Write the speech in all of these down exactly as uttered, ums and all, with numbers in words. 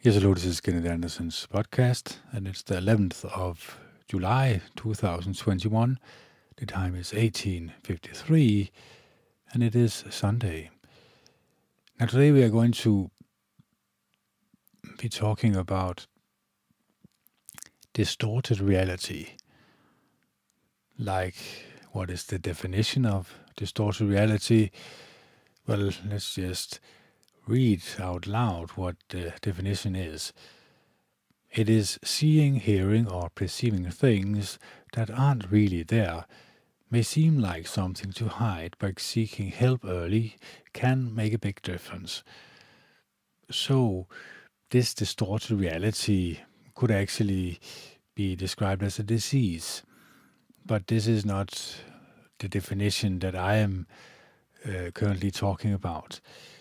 Yes, hello, this is Kenneth Anderson's podcast, and it's the eleventh of July, two thousand twenty-one. The time is eighteen fifty-three, and it is Sunday. Now, today we are going to be talking about distorted reality. Like, what is the definition of distorted reality? Well, let's just read out loud what the definition is. It is seeing, hearing, or perceiving things that aren't really there, may seem like something to hide, but seeking help early can make a big difference. So, this distorted reality could actually be described as a disease, but this is not the definition that I am uh, currently talking about.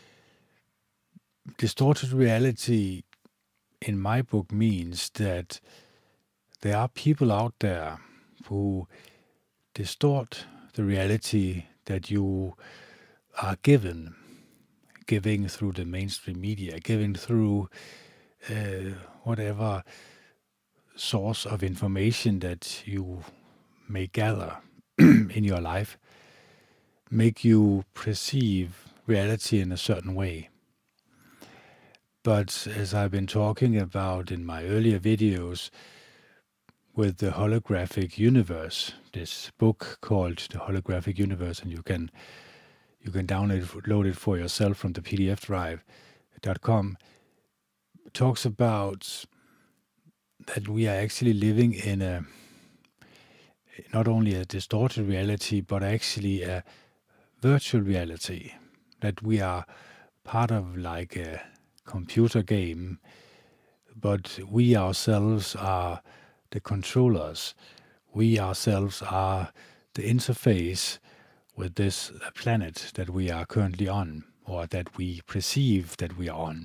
Distorted reality in my book means that there are people out there who distort the reality that you are given, giving through the mainstream media, giving through uh, whatever source of information that you may gather in your life, make you perceive reality in a certain way. But as I've been talking about in my earlier videos with the Holographic Universe, this book called The Holographic Universe, and you can you can download it for yourself from the P D F drive dot com, talks about that we are actually living in a not only a distorted reality, but actually a virtual reality, that we are part of like a computer game, but we ourselves are the controllers. We ourselves are the interface with this planet that we are currently on, or that we perceive that we are on.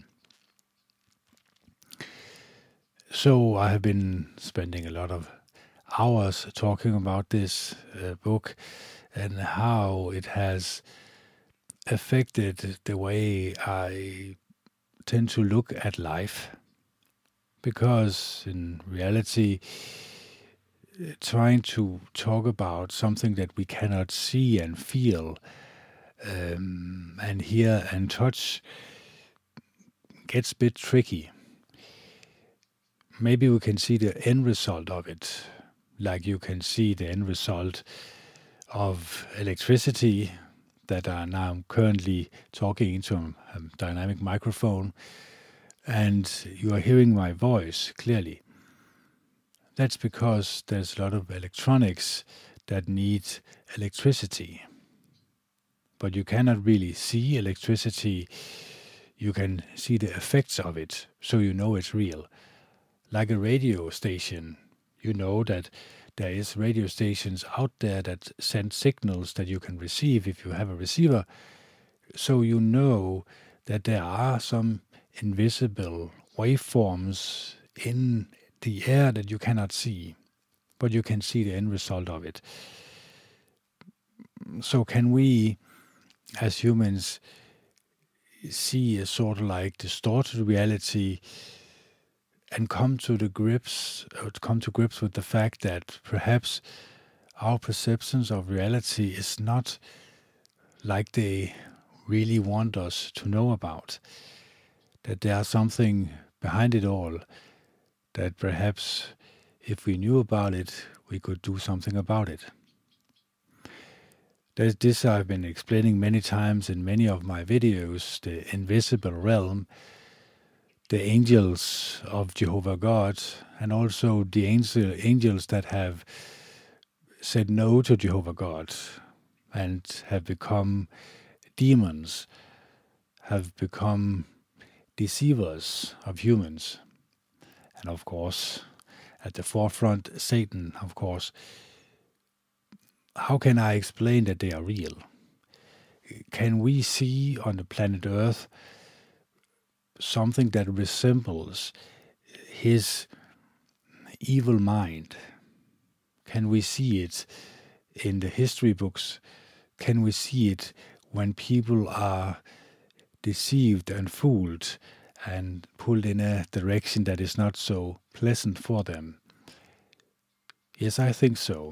So I have been spending a lot of hours talking about this uh, book and how it has affected the way I tend to look at life, because in reality, trying to talk about something that we cannot see and feel um, and hear and touch gets a bit tricky. Maybe we can see the end result of it, like you can see the end result of electricity that are now currently talking into a dynamic microphone, and you are hearing my voice clearly. That's because there's a lot of electronics that need electricity. But you cannot really see electricity. You can see the effects of it, so you know it's real. Like a radio station, you know that there is radio stations out there that send signals that you can receive if you have a receiver. So you know that there are some invisible waveforms in the air that you cannot see, but you can see the end result of it. So can we, as humans, see a sort of like distorted reality and come to the grips, or come to grips with the fact that perhaps our perceptions of reality is not like they really want us to know about, that there's something behind it all, that perhaps if we knew about it, we could do something about it. There's this I've been explaining many times in many of my videos, the invisible realm, the angels of Jehovah God, and also the angel, angels that have said no to Jehovah God and have become demons, have become deceivers of humans. And of course, at the forefront, Satan, of course. How can I explain that they are real? Can we see on the planet Earth something that resembles his evil mind? Can we see it in the history books? Can we see it when people are deceived and fooled and pulled in a direction that is not so pleasant for them? Yes, I think so.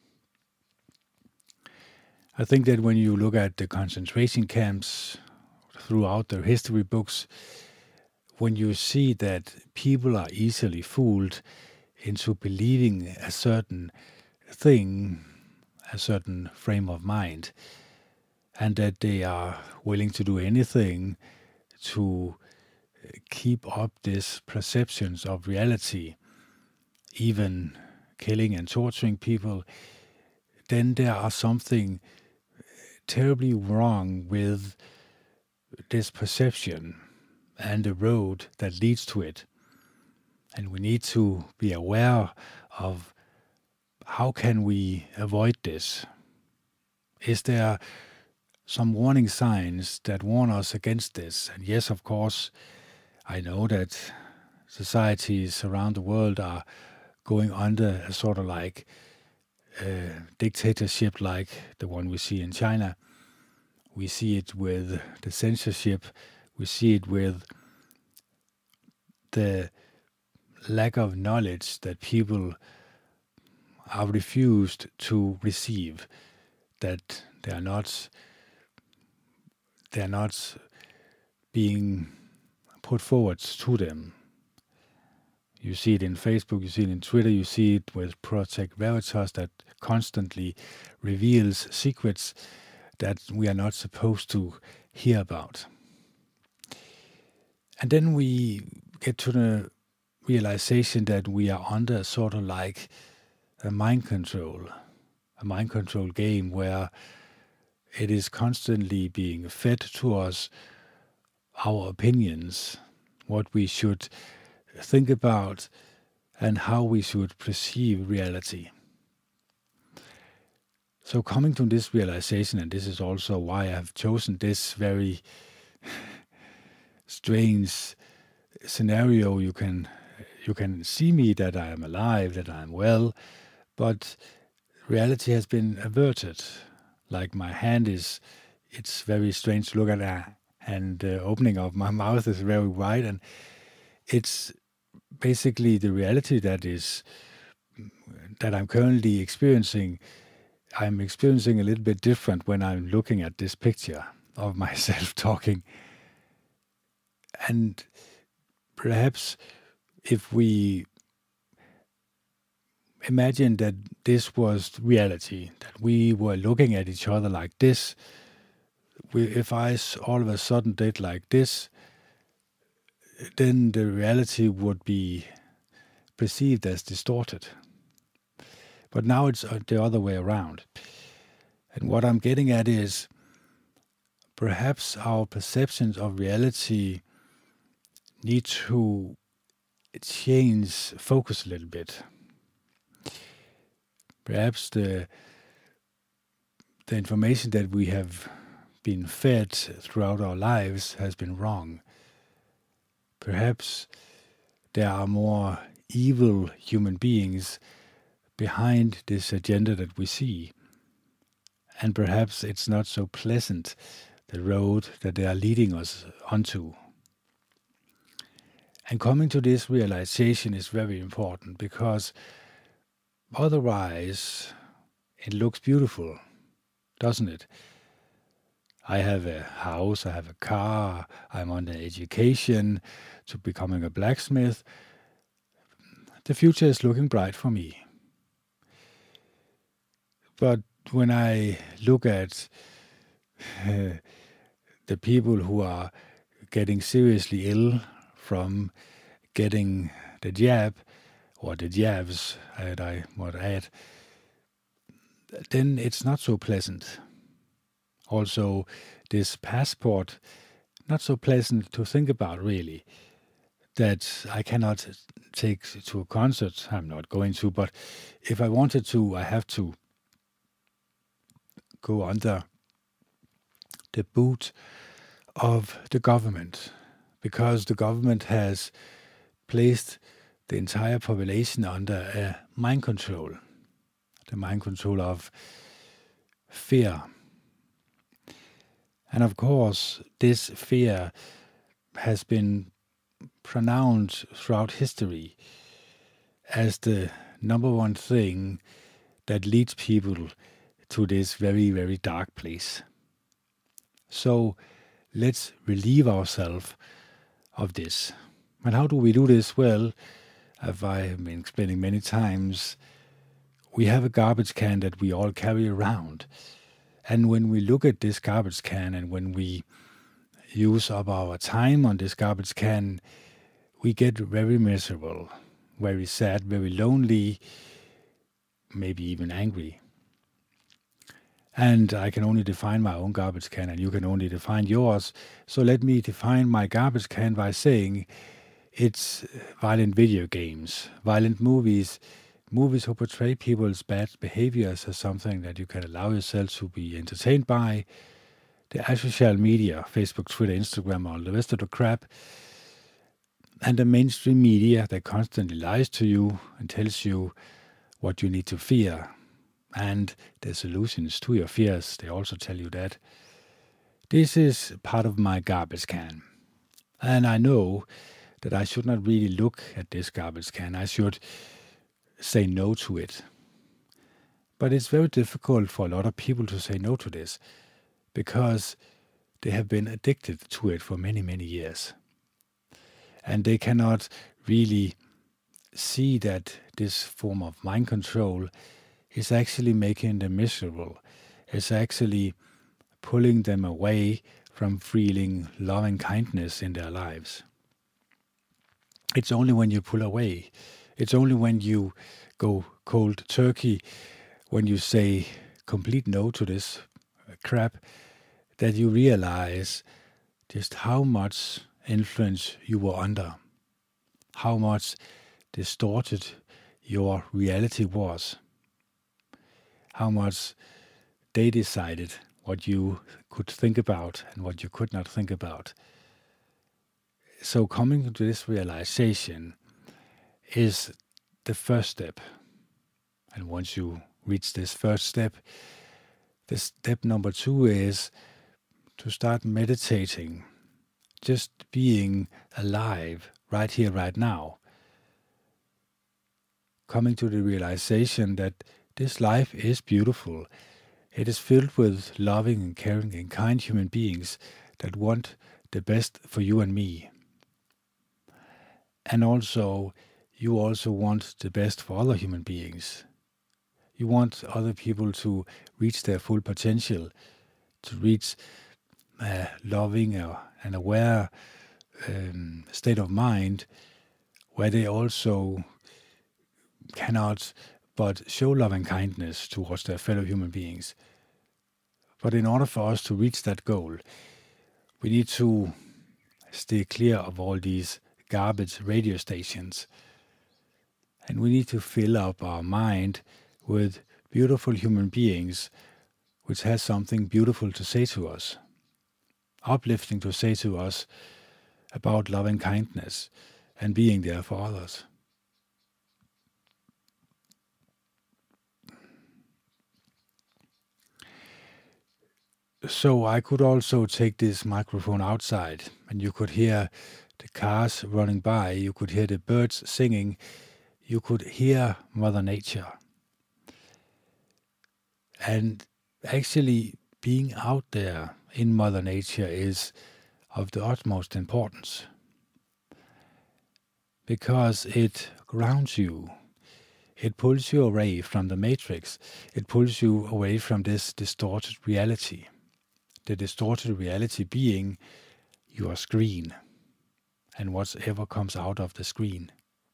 I think that when you look at the concentration camps throughout their history books, when you see that people are easily fooled into believing a certain thing, a certain frame of mind, and that they are willing to do anything to keep up these perceptions of reality, even killing and torturing people, then there are something terribly wrong with this perception and the road that leads to it. And we need to be aware of how can we avoid this. Is there some warning signs that warn us against this? And yes, of course, I know that societies around the world are going under a sort of like uh, dictatorship like the one we see in China. We see it with the censorship. We see it with the lack of knowledge that people are refused to receive, that they are not they are not being put forward to them. You see it in Facebook, you see it in Twitter, you see it with Project Veritas that constantly reveals secrets that we are not supposed to hear about. And then we get to the realization that we are under sort of like a mind control, a mind control game where it is constantly being fed to us our opinions, what we should think about, and how we should perceive reality. So coming to this realization, and this is also why I have chosen this very strange scenario, you can you can see me that I am alive, that I am well, but reality has been averted. Like my hand is, it's very strange to look at that, and the opening of my mouth is very wide, and it's basically the reality that is that I'm currently experiencing. I'm experiencing a little bit different when I'm looking at this picture of myself talking. And perhaps if we imagine that this was reality, that we were looking at each other like this, we, if I all of a sudden did like this, then the reality would be perceived as distorted. But now it's the other way around. And what I'm getting at is perhaps our perceptions of reality need to change focus a little bit. Perhaps the the information that we have been fed throughout our lives has been wrong. Perhaps there are more evil human beings behind this agenda that we see. And perhaps it's not so pleasant, the road that they are leading us onto. And coming to this realization is very important, because otherwise it looks beautiful, doesn't it? I have a house, I have a car, I'm on an education to becoming a blacksmith. The future is looking bright for me. But when I look at uh, the people who are getting seriously ill from getting the jab, or the jabs, that I might add, then it's not so pleasant. Also, this passport, not so pleasant to think about, really, that I cannot take to a concert. I'm not going to, but if I wanted to, I have to go under the boot of the government, because the government has placed the entire population under a mind control, the mind control of fear. And of course, this fear has been pronounced throughout history as the number one thing that leads people to this very, very dark place. So let's relieve ourselves of this. And how do we do this? Well, as I have been explaining many times, we have a garbage can that we all carry around. And when we look at this garbage can and when we use up our time on this garbage can, we get very miserable, very sad, very lonely, maybe even angry. And I can only define my own garbage can, and you can only define yours. So let me define my garbage can by saying it's violent video games, violent movies, movies who portray people's bad behaviors as something that you can allow yourself to be entertained by, the social media, Facebook, Twitter, Instagram, all the rest of the crap, and the mainstream media that constantly lies to you and tells you what you need to fear. And the solutions to your fears, they also tell you that. This is part of my garbage can. And I know that I should not really look at this garbage can. I should say no to it. But it's very difficult for a lot of people to say no to this because they have been addicted to it for many, many years. And they cannot really see that this form of mind control is actually making them miserable. It's actually pulling them away from feeling love and kindness in their lives. It's only when you pull away, it's only when you go cold turkey, when you say complete no to this crap, that you realize just how much influence you were under, how much distorted your reality was, how much they decided what you could think about and what you could not think about. So coming to this realization is the first step. And once you reach this first step, the step number two is to start meditating, just being alive right here, right now. Coming to the realization that this life is beautiful. It is filled with loving and caring and kind human beings that want the best for you and me. And also, you also want the best for other human beings. You want other people to reach their full potential, to reach a loving and aware um, state of mind where they also cannot but show love and kindness towards their fellow human beings. But in order for us to reach that goal, we need to stay clear of all these garbage radio stations. And we need to fill up our mind with beautiful human beings which has something beautiful to say to us, uplifting to say to us about love and kindness and being there for others. So I could also take this microphone outside and you could hear the cars running by, you could hear the birds singing, you could hear Mother Nature. And actually being out there in Mother Nature is of the utmost importance because it grounds you. It pulls you away from the matrix. It pulls you away from this distorted reality. The distorted reality being your screen and whatever comes out of the screen.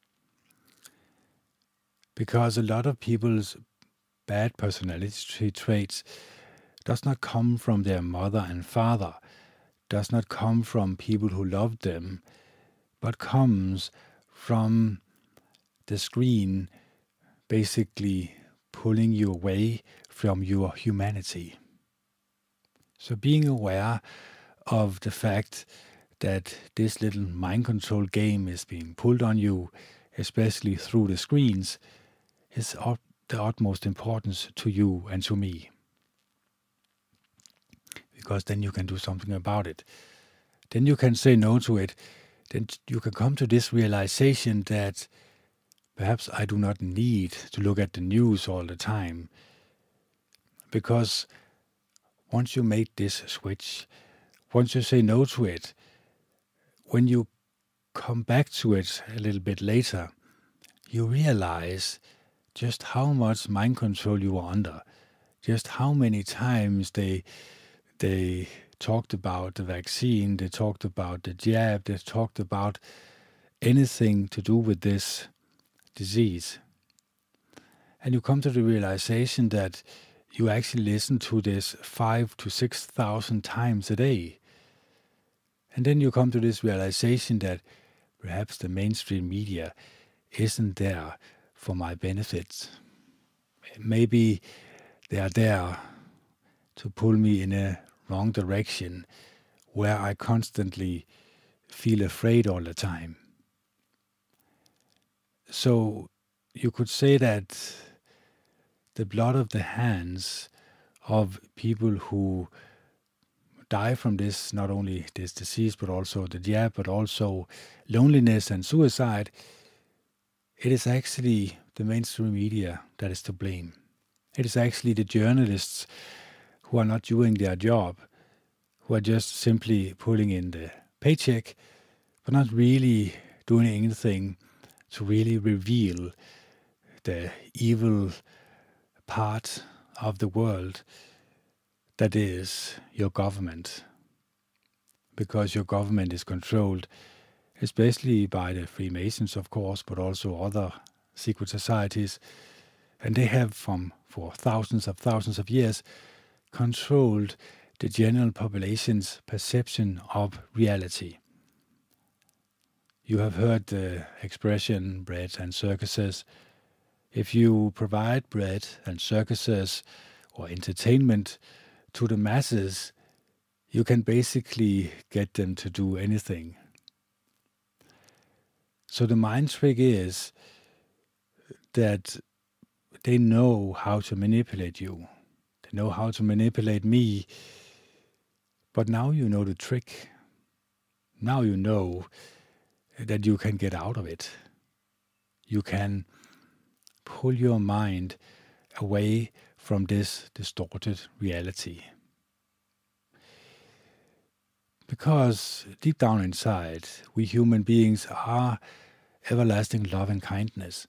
Because a lot of people's bad personality traits does not come from their mother and father, does not come from people who loved them, but comes from the screen basically pulling you away from your humanity. So being aware of the fact that this little mind control game is being pulled on you, especially through the screens, is of the utmost importance to you and to me. Because then you can do something about it. Then you can say no to it. then you can come to this realization that perhaps I do not need to look at the news all the time, because once you make this switch, once you say no to it, when you come back to it a little bit later, you realize just how much mind control you are under, just how many times they they talked about the vaccine, they talked about the jab, they talked about anything to do with this disease. And you come to the realization that you actually listen to this five to six thousand times a day. And then you come to this realization that perhaps the mainstream media isn't there for my benefit. Maybe they are there to pull me in a wrong direction where I constantly feel afraid all the time. So you could say that the blood of the hands of people who die from this, not only this disease, but also the jab, but also loneliness and suicide, it is actually the mainstream media that is to blame. It is actually the journalists who are not doing their job, who are just simply pulling in the paycheck, but not really doing anything to really reveal the evil part of the world that is your government. Because your government is controlled, especially by the Freemasons, of course, but also other secret societies, and they have from for thousands of thousands of years controlled the general population's perception of reality. You have heard the expression bread and circuses. If you provide bread and circuses or entertainment to the masses, you can basically get them to do anything. So the mind trick is that they know how to manipulate you. They know how to manipulate me. But now you know the trick. Now you know that you can get out of it. You can pull your mind away from this distorted reality. Because deep down inside, we human beings are everlasting love and kindness.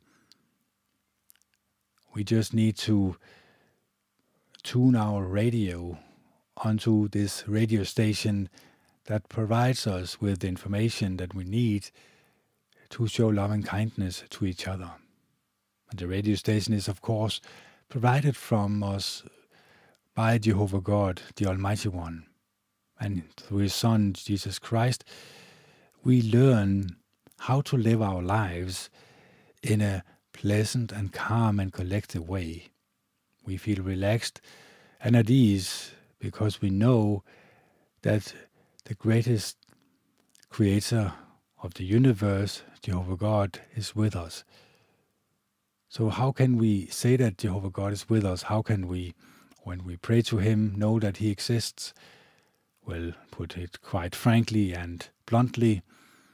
We just need to tune our radio onto this radio station that provides us with the information that we need to show love and kindness to each other. And the radio station is, of course, provided from us by Jehovah God, the Almighty One. And through His Son, Jesus Christ, we learn how to live our lives in a pleasant and calm and collected way. We feel relaxed and at ease because we know that the greatest creator of the universe, Jehovah God, is with us. So how can we say that Jehovah God is with us? How can we, when we pray to Him, know that He exists? Well, put it quite frankly and bluntly,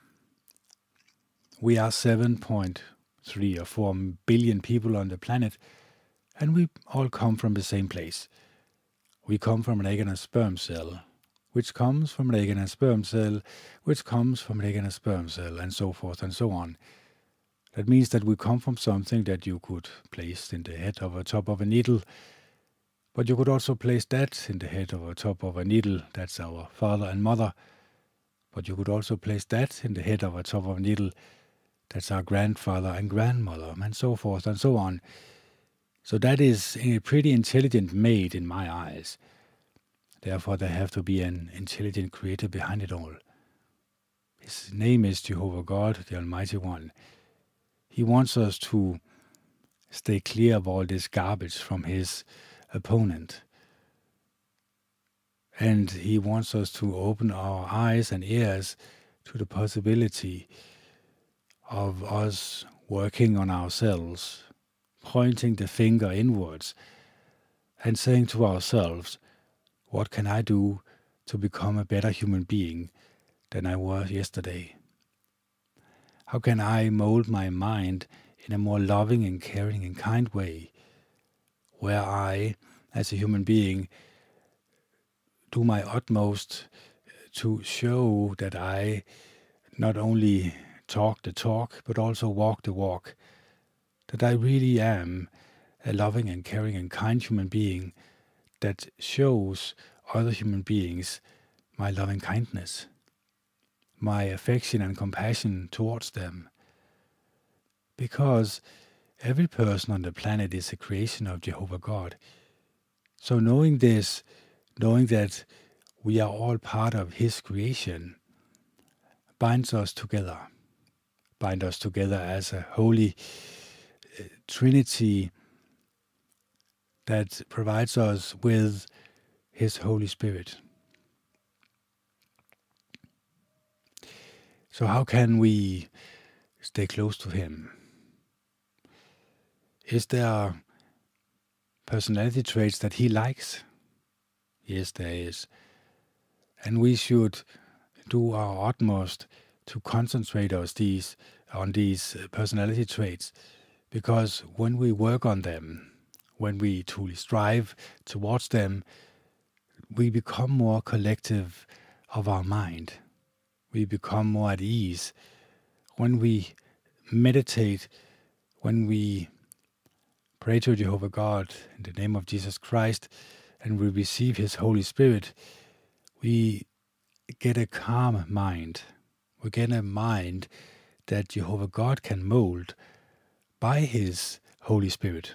we are seven point three or four billion people on the planet, and we all come from the same place. We come from an egg and a sperm cell, which comes from an egg and a sperm cell, which comes from an egg and a sperm cell, and so forth and so on. That means that we come from something that you could place in the head of a top of a needle, but you could also place that in the head of a top of a needle. That's our father and mother. But you could also place that in the head of a top of a needle. That's our grandfather and grandmother, and so forth and so on. So that is a pretty intelligent mate in my eyes. Therefore, there have to be an intelligent creator behind it all. His name is Jehovah God, the Almighty One. He wants us to stay clear of all this garbage from His opponent. And He wants us to open our eyes and ears to the possibility of us working on ourselves, pointing the finger inwards and saying to ourselves, what can I do to become a better human being than I was yesterday? How can I mold my mind in a more loving and caring and kind way, where I, as a human being, do my utmost to show that I not only talk the talk, but also walk the walk, that I really am a loving and caring and kind human being that shows other human beings my loving kindness, my affection and compassion towards them. Because every person on the planet is a creation of Jehovah God. So knowing this, knowing that we are all part of His creation, binds us together, binds us together as a holy uh, Trinity that provides us with His Holy Spirit. So how can we stay close to Him? Is there personality traits that He likes? Yes, there is. And we should do our utmost to concentrate us these, on these personality traits, because when we work on them, when we truly strive towards them, we become more collective of our mind. We become more at ease. When we meditate, when we pray to Jehovah God in the name of Jesus Christ, and we receive His Holy Spirit, we get a calm mind. We get a mind that Jehovah God can mold by His Holy Spirit.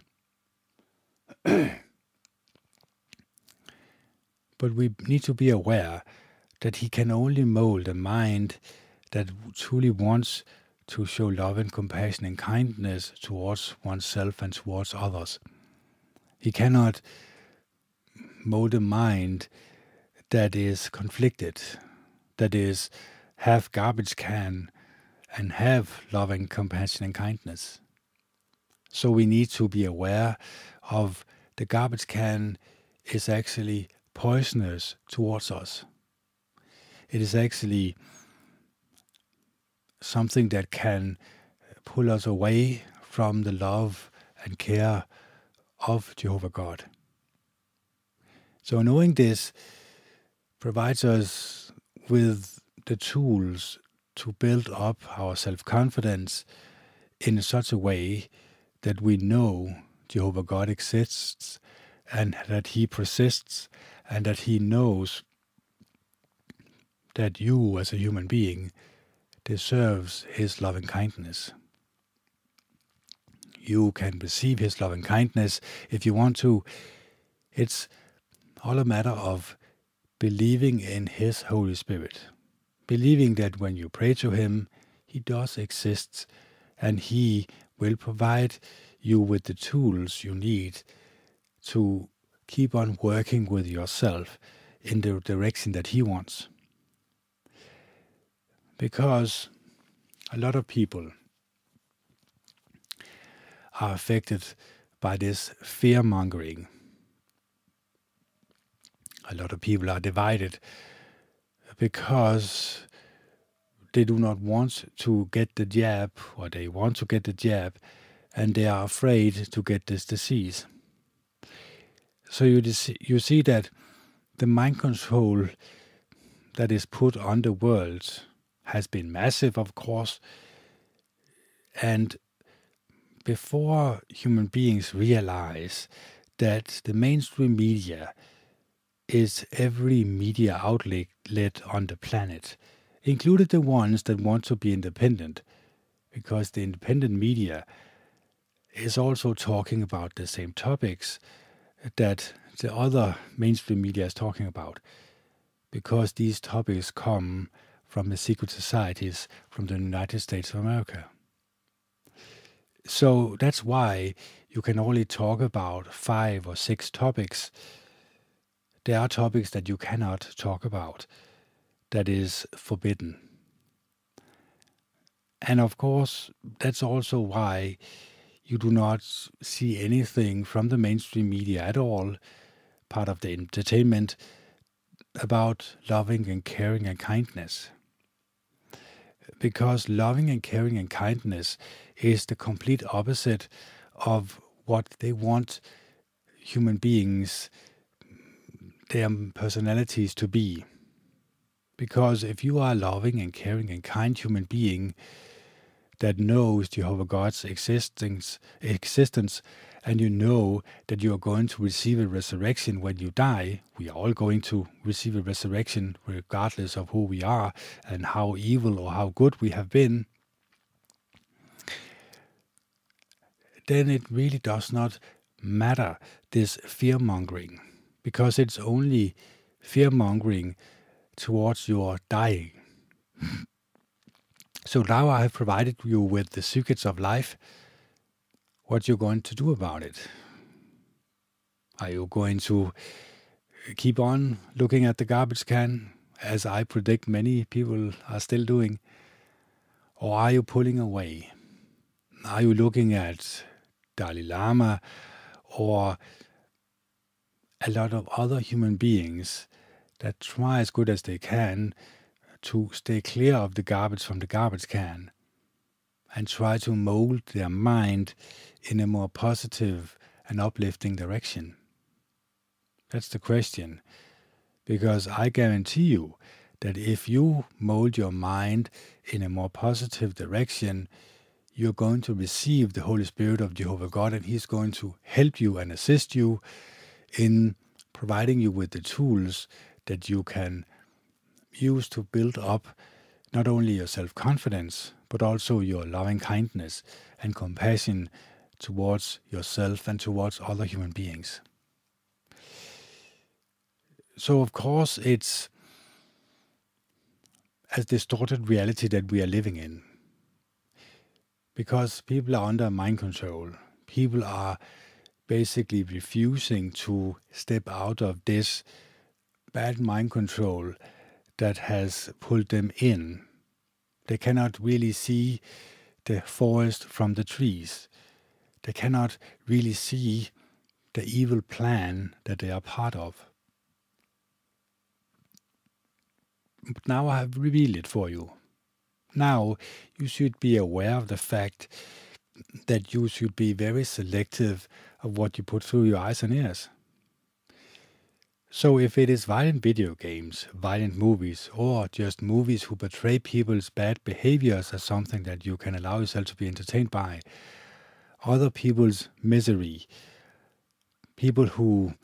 But we need to be aware that He can only mold a mind that truly wants to show love and compassion and kindness towards oneself and towards others. He cannot mold a mind that is conflicted, that is half garbage can and have love and compassion and kindness. So we need to be aware of the garbage can is actually poisonous towards us. It is actually something that can pull us away from the love and care of Jehovah God. So knowing this provides us with the tools to build up our self-confidence in such a way that we know Jehovah God exists and that He persists and that He knows that you as a human being deserves His loving kindness. You can receive His loving kindness if you want to. It's all a matter of believing in His Holy Spirit. Believing that when you pray to Him, He does exist and He will provide you with the tools you need to keep on working with yourself in the direction that He wants. Because a lot of people are affected by this fear-mongering. A lot of people are divided because they do not want to get the jab, or they want to get the jab, and they are afraid to get this disease. So you, you see that the mind control that is put on the world has been massive, of course, and before human beings realize that the mainstream media is every media outlet on the planet, including the ones that want to be independent, because the independent media is also talking about the same topics that the other mainstream media is talking about, because these topics come from the secret societies from the United States of America. So that's why you can only talk about five or six topics. There are topics that you cannot talk about, that is forbidden. And of course, that's also why you do not see anything from the mainstream media at all, part of the entertainment, about loving and caring and kindness. because loving and caring and kindness is the complete opposite of what they want human beings, their personalities to be. Because if you are a loving and caring and kind human being that knows Jehovah God's existence, existence, and you know that you are going to receive a resurrection when you die, we are all going to receive a resurrection regardless of who we are and how evil or how good we have been, then it really does not matter, this fear-mongering, because it's only fear-mongering towards your dying. So now I have provided you with the secrets of life. What you're going to do about it? Are you going to keep on looking at the garbage can, as I predict many people are still doing? Or are you pulling away? Are you looking at Dalai Lama or a lot of other human beings that try as good as they can to stay clear of the garbage from the garbage can and try to mold their mind in a more positive and uplifting direction? That's the question. Because I guarantee you that if you mold your mind in a more positive direction, you're going to receive the Holy Spirit of Jehovah God, and He's going to help you and assist you in providing you with the tools that you can use to build up not only your self-confidence, but also your loving kindness and compassion towards yourself and towards other human beings. So, of course, it's a distorted reality that we are living in. Because people are under mind control. People are basically refusing to step out of this bad mind control that has pulled them in. They cannot really see the forest from the trees. They cannot really see the evil plan that they are part of. But now I have revealed it for you. Now you should be aware of the fact that you should be very selective of what you put through your eyes and ears. So if it is violent video games, violent movies, or just movies who portray people's bad behaviors as something that you can allow yourself to be entertained by, other people's misery, people who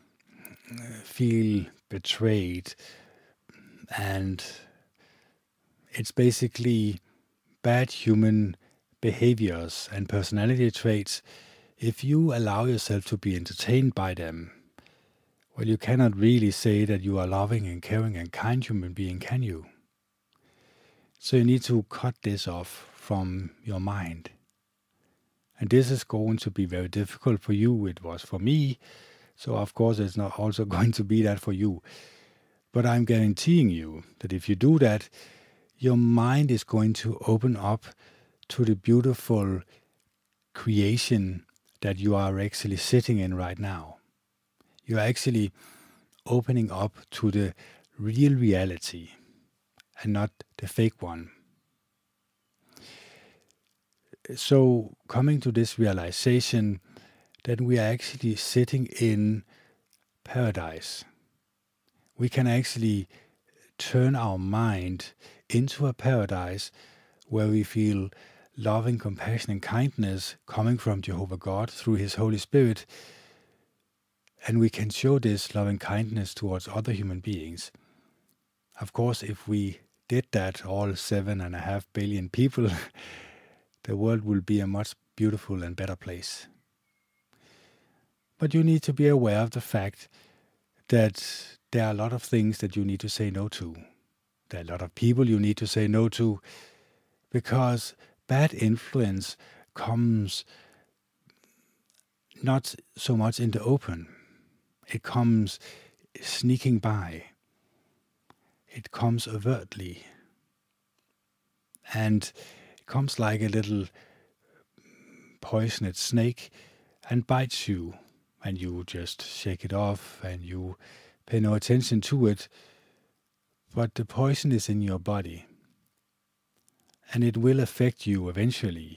feel betrayed, and it's basically bad human behaviors and personality traits. If you allow yourself to be entertained by them, well, you cannot really say that you are loving and caring and kind human being, can you? So you need to cut this off from your mind. And this is going to be very difficult for you. It was for me. So of course it's not also going to be that for you. But I'm guaranteeing you that if you do that, your mind is going to open up to the beautiful creation that you are actually sitting in right now. You are actually opening up to the real reality and not the fake one. So coming to this realization that we are actually sitting in paradise, we can actually turn our mind into a paradise where we feel loving compassion and kindness coming from Jehovah God through His Holy Spirit, and we can show this loving kindness towards other human beings. Of course, if we did that, all seven and a half billion people, the world will be a much beautiful and better place. But you need to be aware of the fact that there are a lot of things that you need to say no to. There are a lot of people you need to say no to, because bad influence comes not so much in the open. It comes sneaking by. It comes overtly. And it comes like a little poisoned snake and bites you. And you just shake it off and you pay no attention to it. But the poison is in your body. and it will affect you eventually.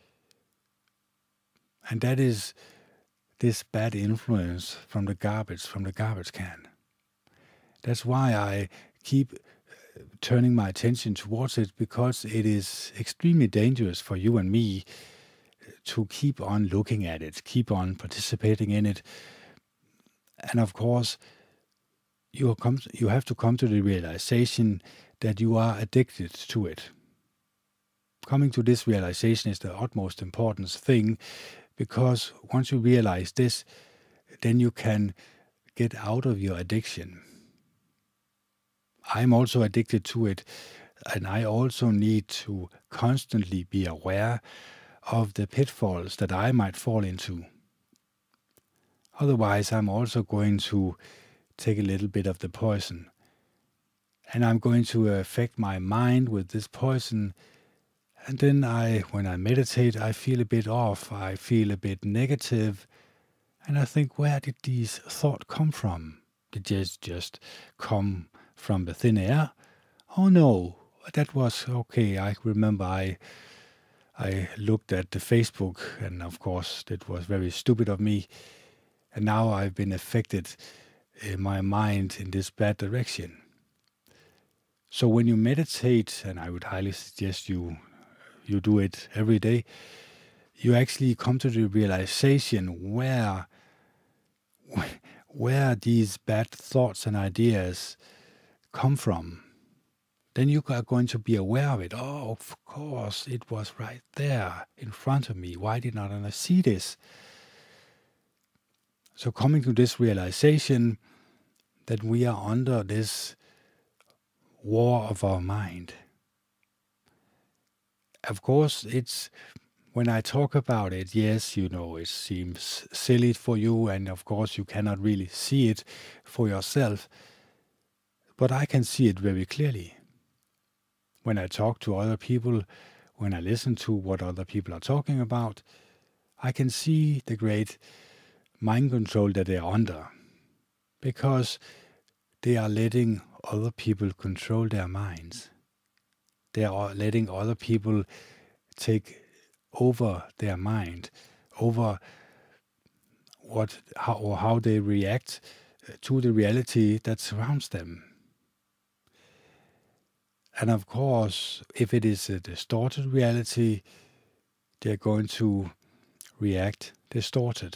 And that is this bad influence from the garbage, from the garbage can. That's why I keep turning my attention towards it, because it is extremely dangerous for you and me to keep on looking at it, keep on participating in it. And of course, you come, you have to come to the realization that you are addicted to it. Coming to this realization is the utmost important thing, because once you realize this, then you can get out of your addiction. I'm also addicted to it, and I also need to constantly be aware of the pitfalls that I might fall into. Otherwise, I'm also going to take a little bit of the poison, and I'm going to affect my mind with this poison. And then I, when I meditate, I feel a bit off, I feel a bit negative, and I think, where did these thoughts come from? Did they just come from the thin air? Oh no, that was okay. I remember I I looked at the Facebook, and of course that was very stupid of me. And now I've been affected in my mind in this bad direction. So when you meditate, and I would highly suggest you you do it every day, you actually come to the realization where where these bad thoughts and ideas come from. Then you are going to be aware of it. Oh, of course, it was right there in front of me. Why did not I see this? So coming to this realization that we are under this war of our mind. Of course, it's when I talk about it, yes, you know, it seems silly for you, and of course you cannot really see it for yourself, but I can see it very clearly. When I talk to other people, when I listen to what other people are talking about, I can see the great mind control that they are under, because they are letting other people control their minds. They are letting other people take over their mind, over what how, or how they react to the reality that surrounds them. And of course, if it is a distorted reality, they're going to react distorted.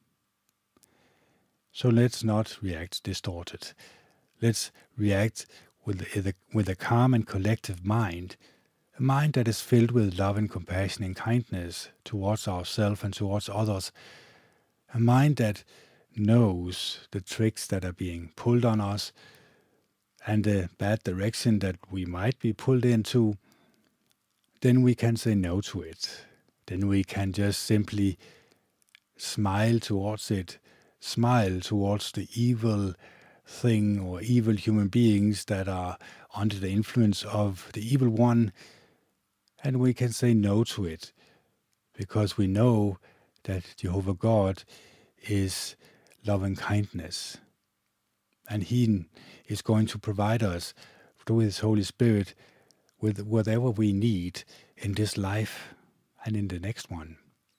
So let's not react distorted. Let's react with a, with a calm and collective mind, a mind that is filled with love and compassion and kindness towards ourselves and towards others, a mind that knows the tricks that are being pulled on us and the bad direction that we might be pulled into. Then we can say no to it. Then we can just simply smile towards it, smile towards the evil thing or evil human beings that are under the influence of the evil one, and we can say no to it, because we know that Jehovah God is love and kindness, and He is going to provide us through His Holy Spirit with whatever we need in this life and in the next one.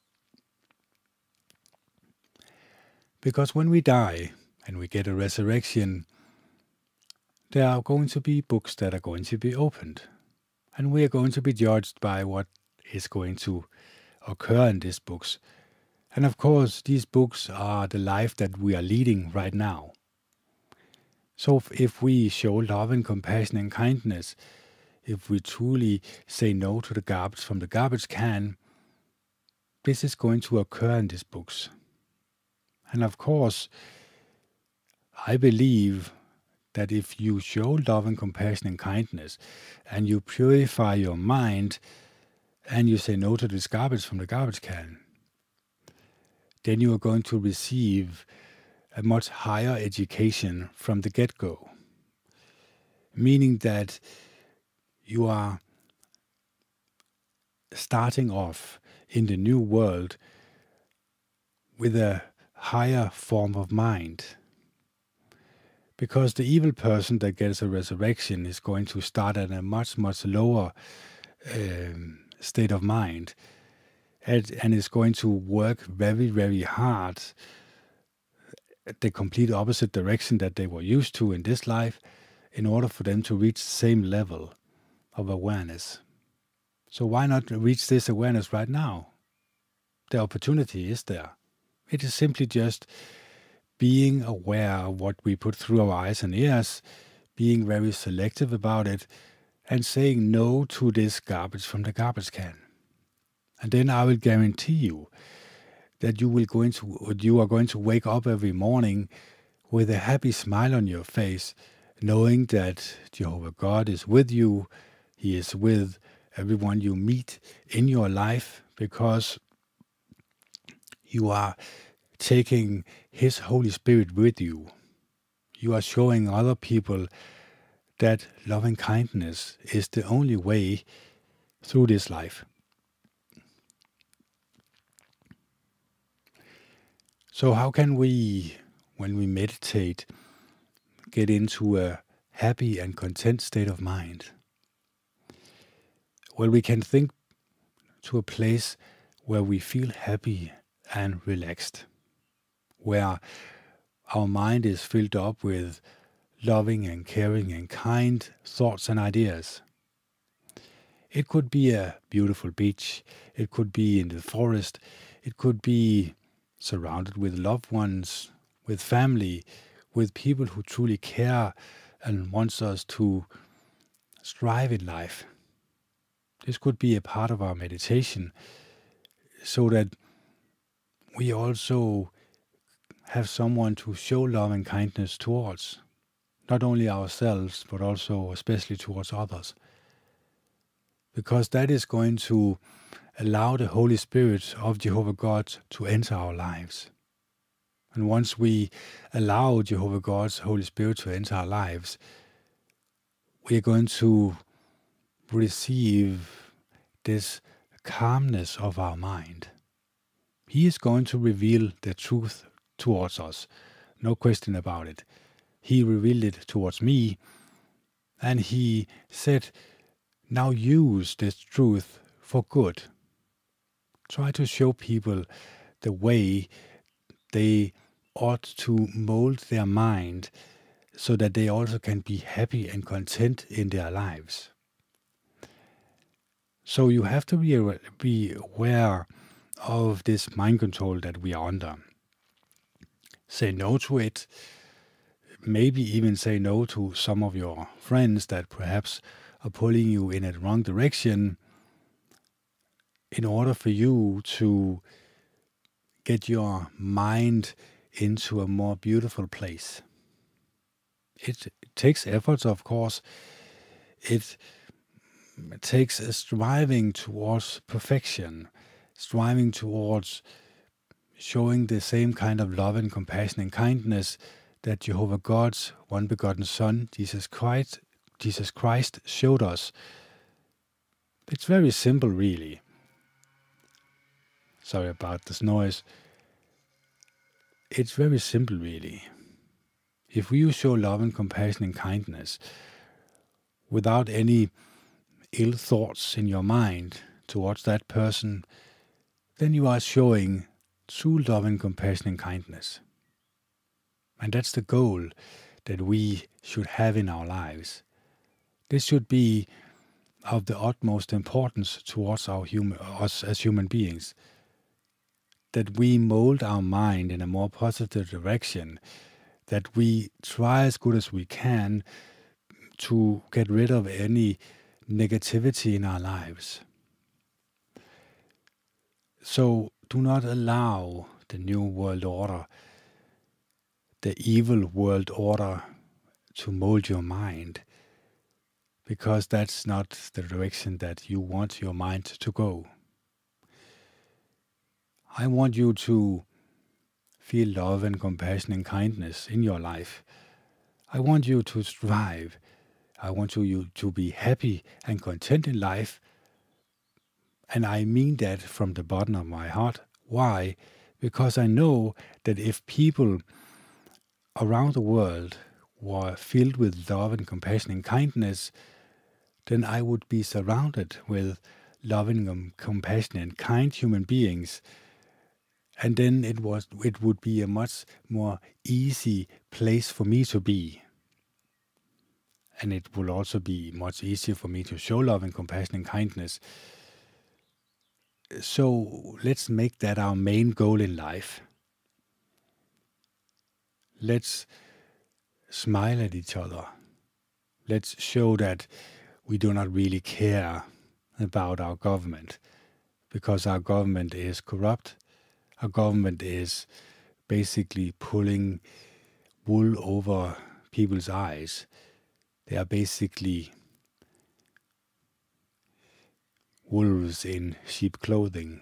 Because when we die and we get a resurrection, there are going to be books that are going to be opened, and we are going to be judged by what is going to occur in these books. And of course, these books are the life that we are leading right now. So if, if we show love and compassion and kindness, if we truly say no to the garbage from the garbage can, this is going to occur in these books. And of course, I believe that if you show love and compassion and kindness, and you purify your mind, and you say no to this garbage from the garbage can, then you are going to receive a much higher education from the get-go. Meaning that you are starting off in the new world with a higher form of mind. Because the evil person that gets a resurrection is going to start at a much, much lower um, state of mind, and, and is going to work very, very hard at the complete opposite direction that they were used to in this life in order for them to reach the same level of awareness. So why not reach this awareness right now? The opportunity is there. It is simply just being aware of what we put through our eyes and ears, being very selective about it, and saying no to this garbage from the garbage can. And then I will guarantee you that you will go into, you are going to wake up every morning with a happy smile on your face, knowing that Jehovah God is with you. He is with everyone you meet in your life, because you are taking His Holy Spirit with you. You are showing other people that loving kindness is the only way through this life. So how can we, when we meditate, get into a happy and content state of mind? Well, we can think to a place where we feel happy and relaxed, where our mind is filled up with loving and caring and kind thoughts and ideas. It could be a beautiful beach, it could be in the forest, it could be surrounded with loved ones, with family, with people who truly care and wants us to strive in life. This could be a part of our meditation, so that we also have someone to show love and kindness towards, not only ourselves, but also especially towards others. Because that is going to allow the Holy Spirit of Jehovah God to enter our lives. And once we allow Jehovah God's Holy Spirit to enter our lives, we are going to receive this calmness of our mind. He is going to reveal the truth towards us, no question about it. He revealed it towards me, and He said, now use this truth for good. Try to show people the way they ought to mold their mind so that they also can be happy and content in their lives. So you have to be, be aware of this mind control that we are under. Say no to it. Maybe even say no to some of your friends that perhaps are pulling you in a wrong direction, in order for you to get your mind into a more beautiful place. It takes efforts, of course. It takes a striving towards perfection, striving towards showing the same kind of love and compassion and kindness that Jehovah God's one begotten Son, Jesus Christ, Jesus Christ showed us. It's very simple, really. Sorry about this noise. It's very simple, really. If you show love and compassion and kindness without any ill thoughts in your mind towards that person, then you are showing true love and compassion and kindness. And that's the goal that we should have in our lives. This should be of the utmost importance towards our human, us as human beings, that we mold our mind in a more positive direction, that we try as good as we can to get rid of any negativity in our lives. So do not allow the new world order, the evil world order, to mold your mind, because that's not the direction that you want your mind to go. I want you to feel love and compassion and kindness in your life. I want you to strive. I want you to be happy and content in life. And I mean that from the bottom of my heart. Why? Because I know that if people around the world were filled with love and compassion and kindness, then I would be surrounded with loving and compassionate, kind human beings. And then it was it would be a much more easy place for me to be. And it will also be much easier for me to show love and compassion and kindness. So let's make that our main goal in life. Let's smile at each other. Let's show that we do not really care about our government, because our government is corrupt. Our government is basically pulling wool over people's eyes. They are basically wolves in sheep clothing.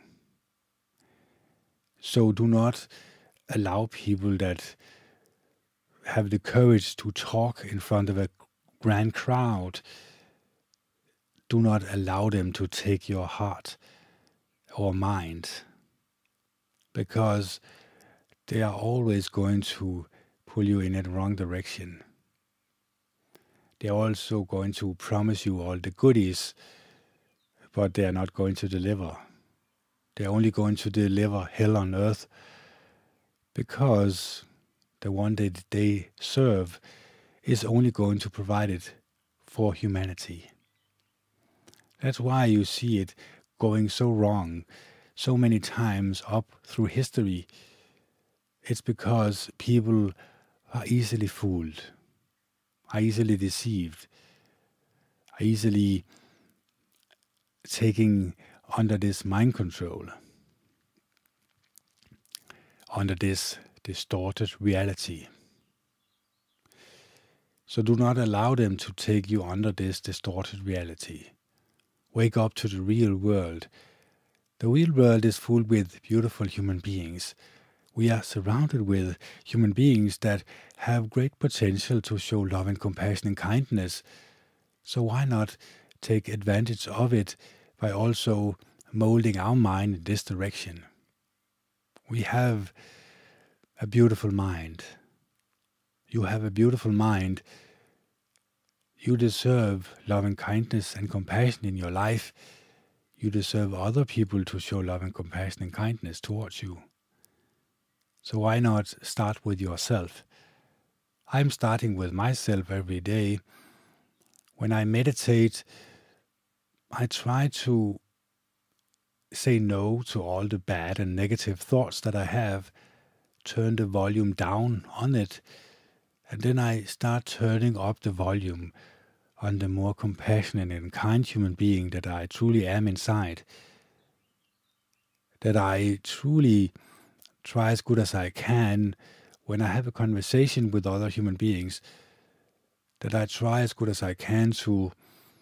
So do not allow people that have the courage to talk in front of a grand crowd. Do not allow them to take your heart or mind, because they are always going to pull you in the wrong direction. They are also going to promise you all the goodies, but they are not going to deliver. They are only going to deliver hell on earth, because the one that they serve is only going to provide it for humanity. That's why you see it going so wrong so many times up through history. It's because people are easily fooled, are easily deceived, are easily taking under this mind control, under this distorted reality. So do not allow them to take you under this distorted reality. Wake up to the real world. The real world is full with beautiful human beings. We are surrounded with human beings that have great potential to show love and compassion and kindness. So why not take advantage of it by also molding our mind in this direction? We have a beautiful mind. You have a beautiful mind. You deserve love and kindness and compassion in your life. You deserve other people to show love and compassion and kindness towards you. So why not start with yourself? I'm starting with myself every day. When I meditate, I try to say no to all the bad and negative thoughts that I have, turn the volume down on it, and then I start turning up the volume on the more compassionate and kind human being that I truly am inside. That I truly try as good as I can when I have a conversation with other human beings, that I try as good as I can to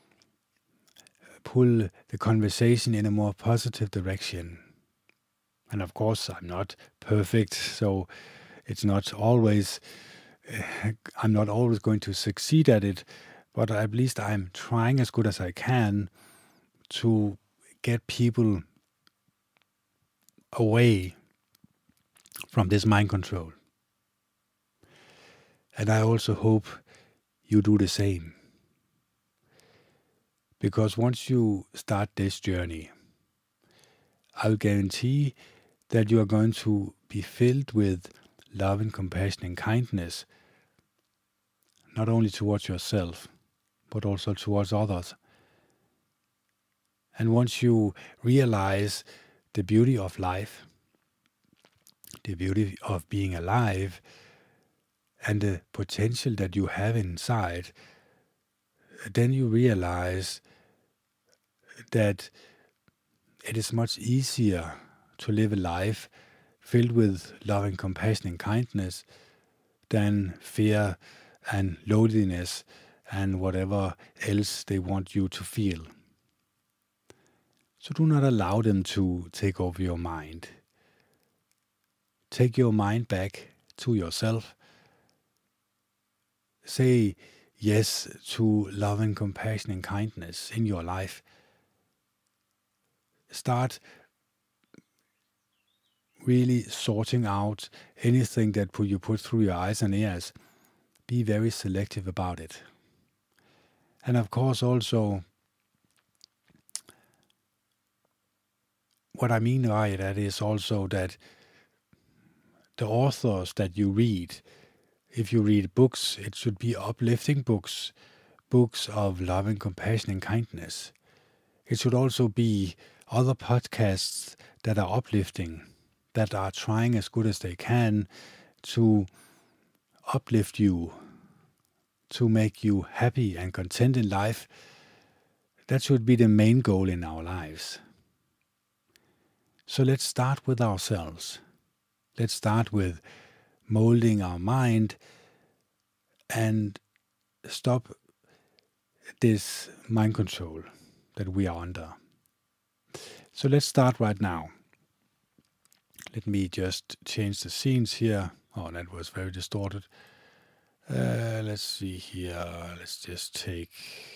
pull the conversation in a more positive direction. And of course, I'm not perfect, so it's not always, I'm not always going to succeed at it, but at least I'm trying as good as I can to get people away from this mind control. And I also hope you do the same. Because once you start this journey, I'll guarantee that you are going to be filled with love and compassion and kindness, not only towards yourself, but also towards others. And once you realize the beauty of life, the beauty of being alive, and the potential that you have inside, then you realize that it is much easier to live a life filled with love and compassion and kindness than fear and loneliness and whatever else they want you to feel. So do not allow them to take over your mind. Take your mind back to yourself. Say yes to love and compassion and kindness in your life. Start really sorting out anything that you put through your eyes and ears. Be very selective about it. And of course also what I mean by that is also that the authors that you read, if you read books, it should be uplifting books, books of love and compassion and kindness. It should also be other podcasts that are uplifting, that are trying as good as they can to uplift you, to make you happy and content in life. That should be the main goal in our lives. So let's start with ourselves. Let's start with molding our mind and stop this mind control that we are under. So let's start right now. Let me just change the scenes here. Oh, that was very distorted. Uh, let's see here. Let's just take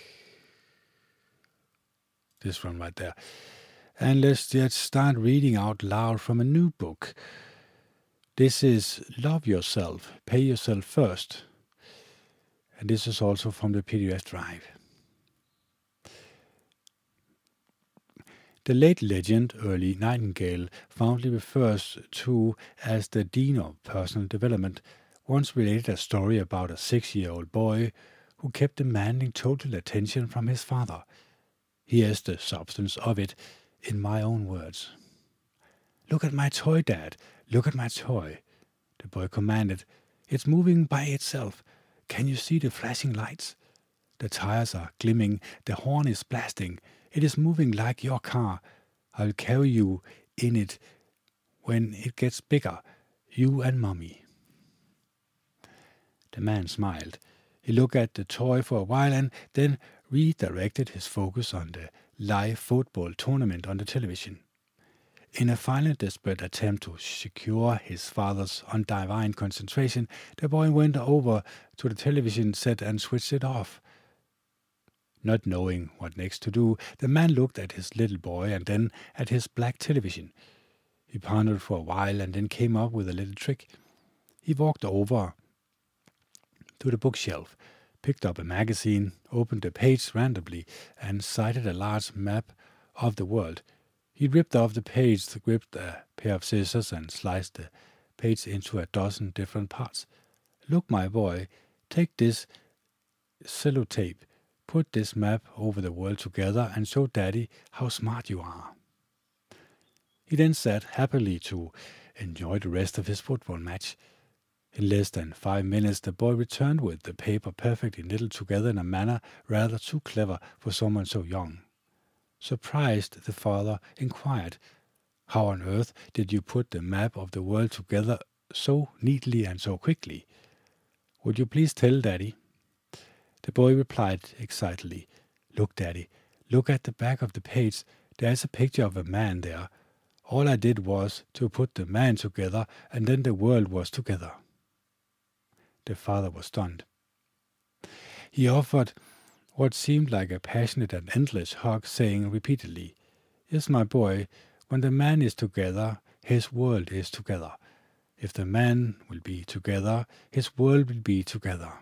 this one right there. And let's just start reading out loud from a new book. This is Love Yourself, Pay Yourself First. And this is also from the P D F drive. The late legend Earl Nightingale fondly refers to as the Dean of Personal Development, once related a story about a six-year-old boy who kept demanding total attention from his father. Here's the substance of it in my own words. "Look at my toy, Dad. Look at my toy," the boy commanded. "It's moving by itself. Can you see the flashing lights? The tires are gleaming. The horn is blasting. It is moving like your car. I'll carry you in it when it gets bigger, you and Mommy." The man smiled. He looked at the toy for a while and then redirected his focus on the live football tournament on the television. In a final desperate attempt to secure his father's undivided concentration, the boy went over to the television set and switched it off. Not knowing what next to do, the man looked at his little boy and then at his black television. He pondered for a while and then came up with a little trick. He walked over to the bookshelf, picked up a magazine, opened a page randomly, and sighted a large map of the world. He ripped off the page, gripped a pair of scissors, and sliced the page into a dozen different parts. "Look, my boy, take this sellotape. Put this map over the world together and show Daddy how smart you are." He then sat happily to enjoy the rest of his football match. In less than five minutes, the boy returned with the paper perfectly knitted together in a manner rather too clever for someone so young. Surprised, the father inquired, "How on earth did you put the map of the world together so neatly and so quickly? Would you please tell, Daddy?" The boy replied excitedly, "Look, Daddy, look at the back of the page. There's a picture of a man there. All I did was to put the man together, and then the world was together." The father was stunned. He offered what seemed like a passionate and endless hug, saying repeatedly, "Yes, my boy, when the man is together, his world is together. If the man will be together, his world will be together."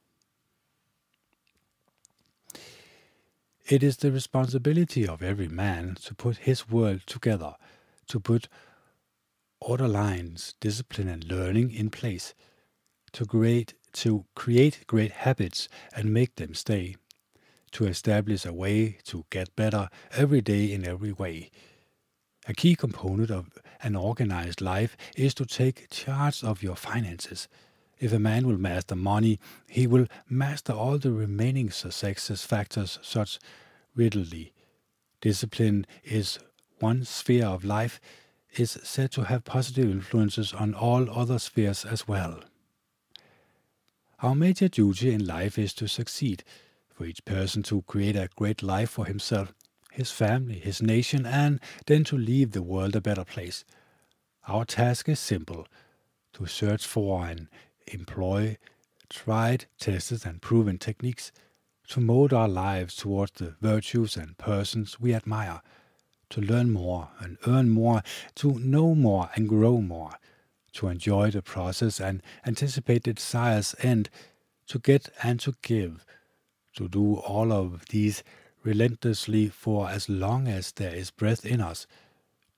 It is the responsibility of every man to put his world together, to put order lines, discipline and learning in place, to create, to create great habits and make them stay, to establish a way to get better every day in every way. A key component of an organized life is to take charge of your finances. If a man will master money, he will master all the remaining success factors such readily. Discipline is one sphere of life, is said to have positive influences on all other spheres as well. Our major duty in life is to succeed, for each person to create a great life for himself, his family, his nation, and then to leave the world a better place. Our task is simple, to search for and employ tried, tested, and proven techniques, to mold our lives towards the virtues and persons we admire, to learn more and earn more, to know more and grow more, to enjoy the process and anticipate the desire's end, to get and to give, to do all of these relentlessly for as long as there is breath in us.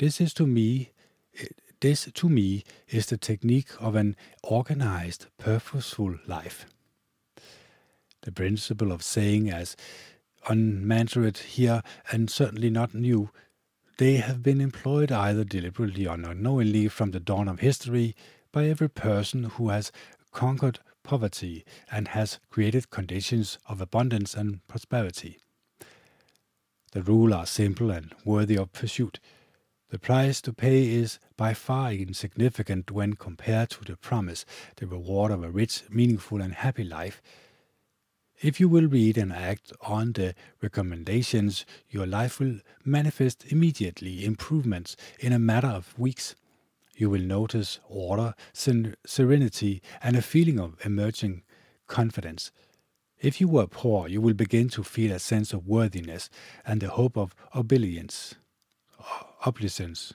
This is to me, this to me is the technique of an organized, purposeful life. The principle of saying as unmandated here, and certainly not new, they have been employed either deliberately or unknowingly from the dawn of history by every person who has conquered poverty and has created conditions of abundance and prosperity. The rules are simple and worthy of pursuit. The price to pay is by far insignificant when compared to the promise, the reward of a rich, meaningful and happy life. If you will read and act on the recommendations, your life will manifest immediately improvements in a matter of weeks. You will notice order, serenity, and a feeling of emerging confidence. If you were poor, you will begin to feel a sense of worthiness and the hope of opulence. Opulence.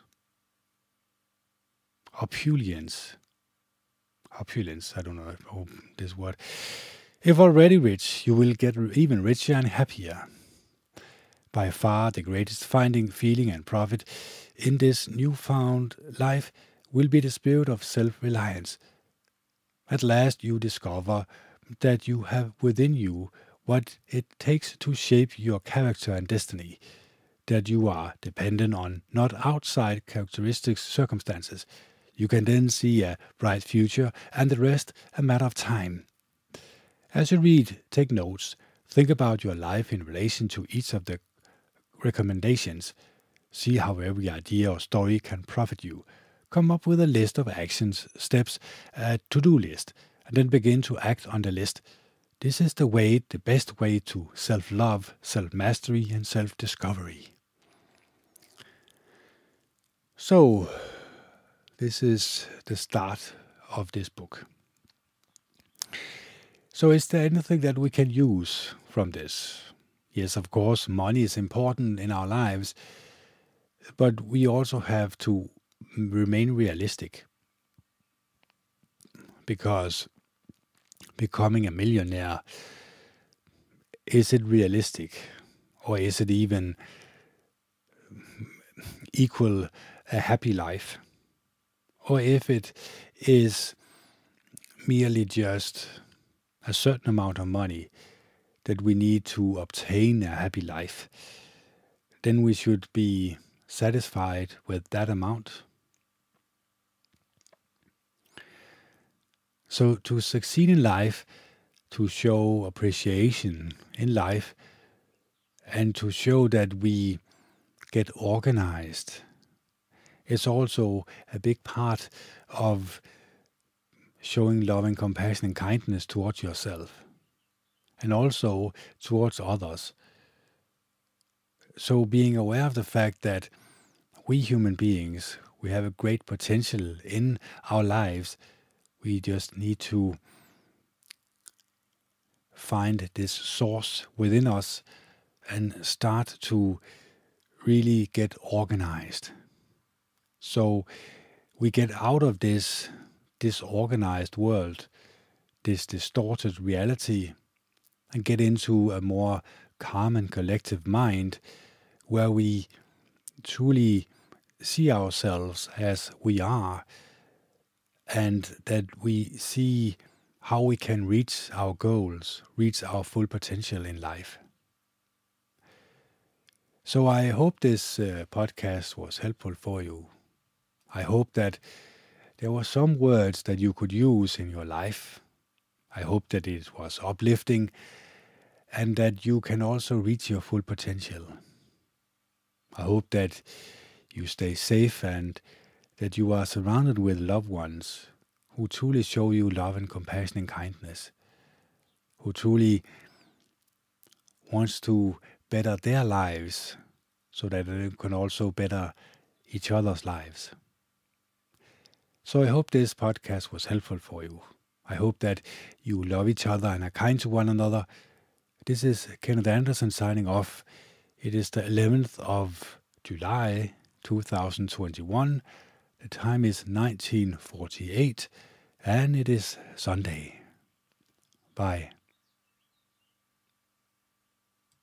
Opulence. Opulence. I don't know this word. If already rich, you will get even richer and happier. By far the greatest finding, feeling and profit in this newfound life will be the spirit of self-reliance. At last you discover that you have within you what it takes to shape your character and destiny, that you are dependent on not outside characteristic circumstances. You can then see a bright future and the rest a matter of time. As you read, take notes, think about your life in relation to each of the recommendations. See how every idea or story can profit you. Come up with a list of actions, steps, a to-do list, and then begin to act on the list. This is the way, the best way to self-love, self-mastery, and self-discovery. So, this is the start of this book. So is there anything that we can use from this? Yes, of course, money is important in our lives, but we also have to remain realistic, because becoming a millionaire, is it realistic, or is it even equal a happy life? Or if it is merely just a certain amount of money that we need to obtain a happy life, then we should be satisfied with that amount. So to succeed in life, to show appreciation in life, and to show that we get organized, is also a big part of showing love and compassion and kindness towards yourself, and also towards others. So being aware of the fact that we human beings, we have a great potential in our lives. We just need to find this source within us and start to really get organized. So we get out of this disorganized world, this distorted reality, and get into a more calm and collective mind where we truly see ourselves as we are, and that we see how we can reach our goals, reach our full potential in life. So I hope this uh, podcast was helpful for you. I hope that there were some words that you could use in your life. I hope that it was uplifting and that you can also reach your full potential. I hope that you stay safe and that you are surrounded with loved ones who truly show you love and compassion and kindness, who truly wants to better their lives so that they can also better each other's lives. So I hope this podcast was helpful for you. I hope that you love each other and are kind to one another. This is Kenneth Anderson signing off. It is the eleventh of July, two thousand twenty-one. The time is nineteen forty-eight, and it is Sunday. Bye.